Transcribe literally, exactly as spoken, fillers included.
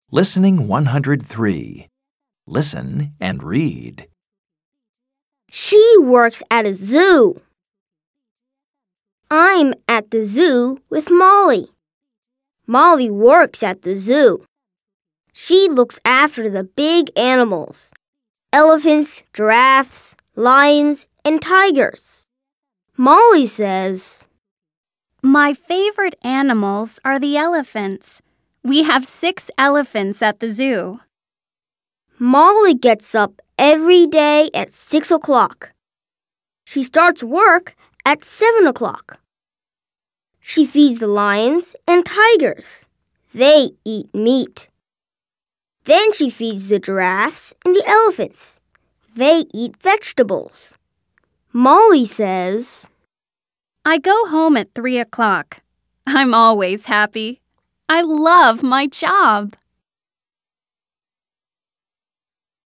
Listening one hundred three. Listen and read. She works at a zoo. I'm at the zoo with Molly. Molly works at the zoo. She looks after the big animals: elephants, giraffes, lions, and tigers. Molly says, "My favorite animals are the elephants. We have six elephants at the zoo." Molly gets up every day at six o'clock. She starts work at seven o'clock. She feeds the lions and tigers. They eat meat. Then she feeds the giraffes and the elephants. They eat vegetables. Molly says, "I go home at three o'clock. I'm always happy. I love my job."